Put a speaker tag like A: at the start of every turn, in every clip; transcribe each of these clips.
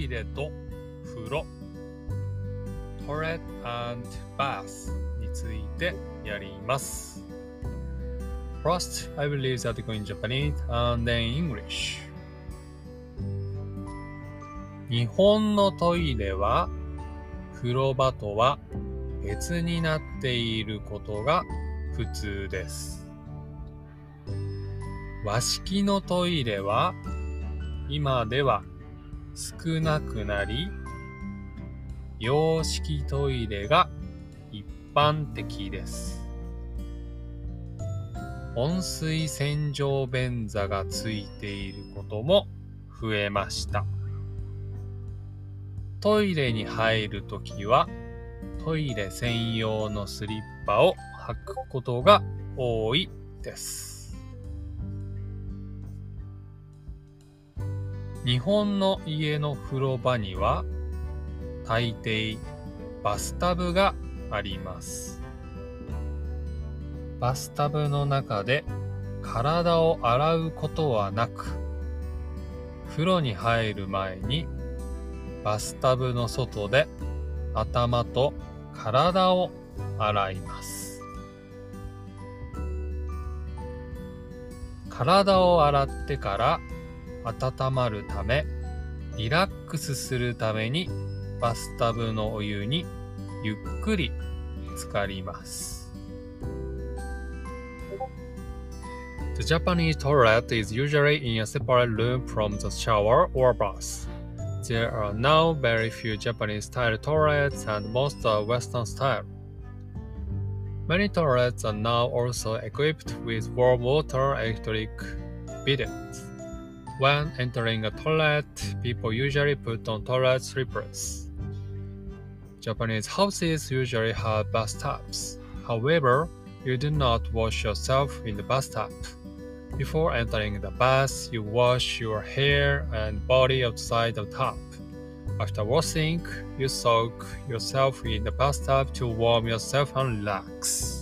A: イレと風呂、toilet and bath についてやります。First, I will use article in Japanese and then English. 日本のトイレは風呂場とは別になっていることが普通です。和式のトイレは今では少なくなり、洋式トイレが一般的です。温水洗浄便座がついていることも増えました。トイレに入るときはトイレ専用のスリッパを履くことが多いです。日本の家の風呂場には大抵バスタブがあります。バスタブの中で体を洗うことはなく、風呂に入る前にバスタブの外で頭と体を洗います。体を洗ってから温まるため、リラックスするためにバスタブのお湯にゆっくり浸かります。The Japanese toilet is usually in a separate room from the shower or bath. There are now very few Japanese-style toilets and most are Western style. Many toilets are now also equipped with warm water electric bidets. When entering a toilet, people usually put on toilet slippers. Japanese houses usually have bathtubs. However, you do not wash yourself in the bathtub. Before entering the bath, you wash your hair and body outside the tub. After washing, you soak yourself in the bathtub to warm yourself and relax.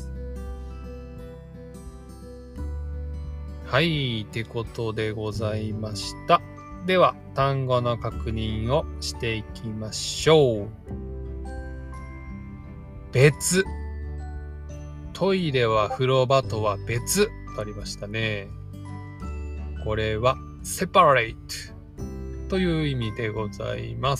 A: はい、ってことでございました。では、単語の確認をしていきましょう。別。トイレは風呂場とは別とありましたね。これは separate という意味でございます。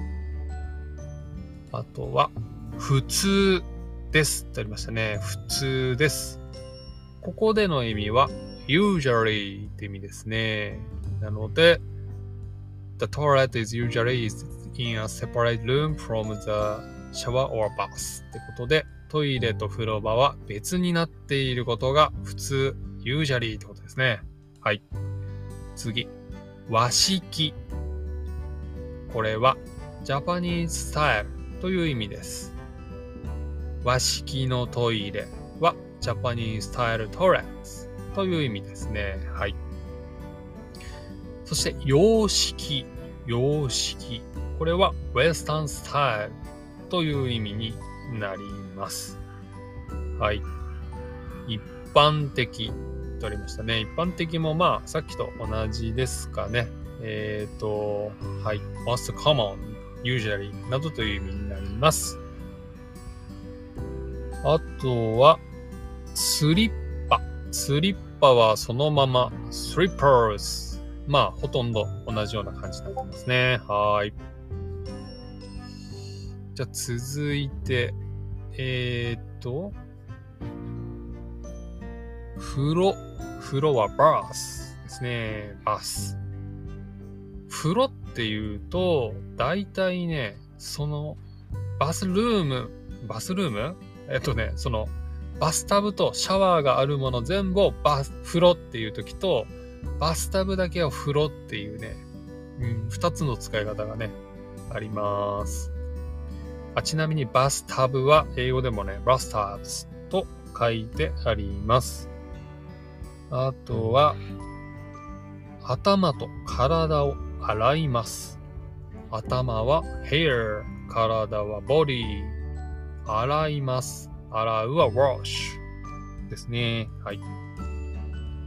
A: あとは普通ですとありましたね。普通です。ここでの意味は usually って意味ですね。なので The toilet is usually in a separate room from the shower or bath ってことで、トイレと風呂場は別になっていることが普通 usually ってことですね。はい。次。和式。これは Japanese style という意味です。和式のトイレは Japanese style toilets という意味ですね。はい。そして洋式。洋式。これは Western style という意味になります。はい。一般的とありましたね。一般的もまあさっきと同じですかね。はい。most common, usually などという意味になります。あとはスリッパ。スリッパはそのまま slippers。まあほとんど同じような感じになってますね。はい。じゃあ続いて風呂はバースですね。バス。風呂っていうと、だいたいね、そのバスルームそのバスタブとシャワーがあるもの全部を風呂っていう時と、バスタブだけを風呂っていうね、二つの使い方がね、あります。ちなみにバスタブは英語でもね、バスタブズと書いてあります。あとは、頭と体を洗います。頭は hair、体は body、洗います。洗うは wash ですね。はい。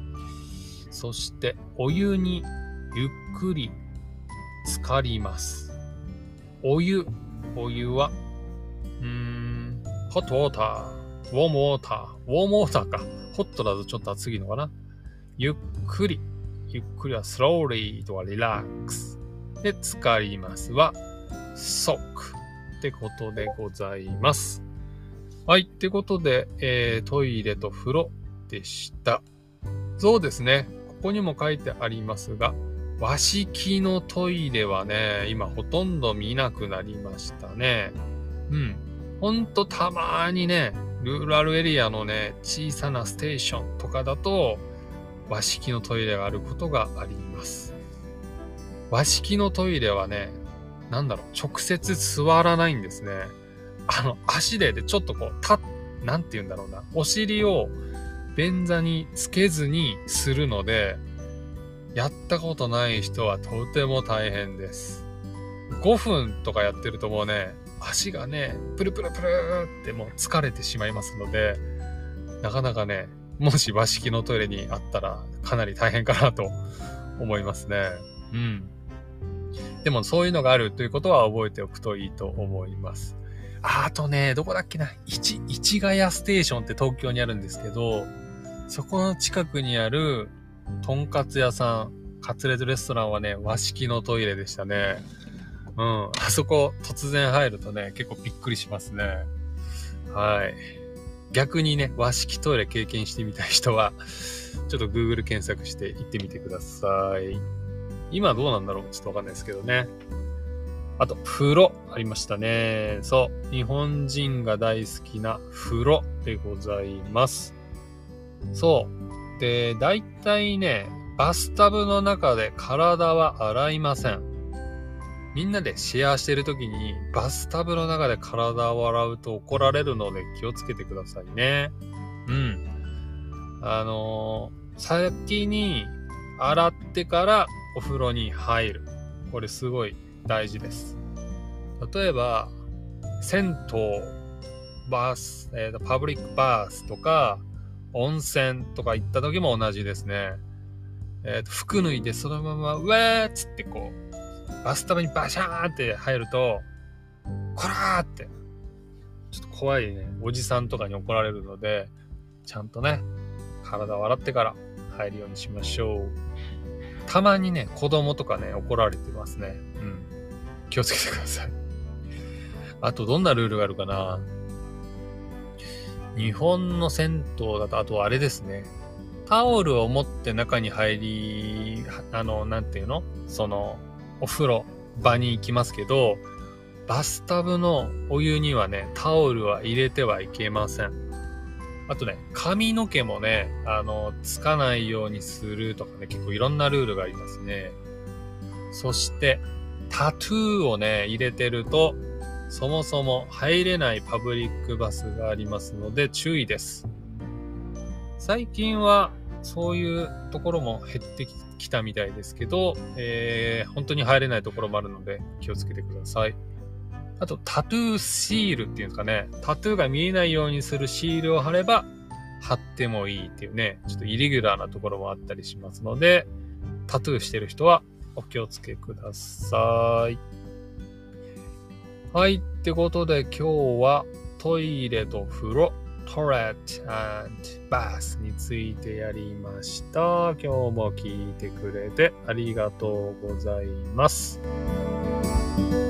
A: そして、お湯にゆっくり浸かります。 お湯は、ホットウォーター、ウォームウォーター、ウォームウォーターか。ホットだとちょっと暑いのかな。ゆっくりは slowly とか relax で使いますは soak ってことでございます。はい、ってことで、トイレと風呂でした。そうですね。ここにも書いてありますが、和式のトイレはね、今ほとんど見なくなりましたね。ほんとたまーにね、ルーラルエリアのね、小さなステーションとかだと、和式のトイレがあることがあります。和式のトイレはね、直接座らないんですね。足でちょっとなんて言うんだろうな。お尻を便座につけずにするので、やったことない人はとても大変です。5分とかやってるともうね、足がね、プルプルプルってもう疲れてしまいますので、なかなかね、もし和式のトイレにあったらかなり大変かなと思いますね。でもそういうのがあるということは覚えておくといいと思います。あとね、どこだっけな、市ヶ谷ステーションって東京にあるんですけど、そこの近くにあるとんかつ屋さん、カツレツレストランはね、和式のトイレでしたね。あそこ突然入るとね、結構びっくりしますね。はい。逆にね、和式トイレ経験してみたい人は、ちょっと Google 検索して行ってみてください。今どうなんだろうちょっとわかんないですけどね。あと、風呂ありましたね。そう。日本人が大好きな風呂でございます。そう。で、だいたいね、バスタブの中で体は洗いません。みんなでシェアしてるときにバスタブの中で体を洗うと怒られるので気をつけてくださいね。先に洗ってからお風呂に入る。これすごい大事です。例えば、銭湯、パブリックバースとか、温泉とか行った時も同じですね。服脱いでそのまま、うわーっつってバスタブにバシャーって入ると、こらーって、ちょっと怖いね、おじさんとかに怒られるので、ちゃんとね、体を洗ってから入るようにしましょう。たまにね、子供とかね、怒られてますね。気をつけてください。あと、どんなルールがあるかな？日本の銭湯だと、あとあれですね。タオルを持って中に入り、なんていうの？お風呂場に行きますけど、バスタブのお湯にはね、タオルは入れてはいけません。あとね、髪の毛もね、つかないようにするとかね、結構いろんなルールがありますね。そして、タトゥーをね、入れてると、そもそも入れないパブリックバスがありますので注意です。最近はそういうところも減ってきたみたいですけど、本当に入れないところもあるので気をつけてください。あとタトゥーシールっていうんですかね、タトゥーが見えないようにするシールを貼れば貼ってもいいっていうね、ちょっとイレギュラーなところもあったりしますので、タトゥーしてる人はお気をつけください。はい、ってことで今日はトイレと風呂、トイレット&バスについてやりました。今日も聞いてくれてありがとうございます。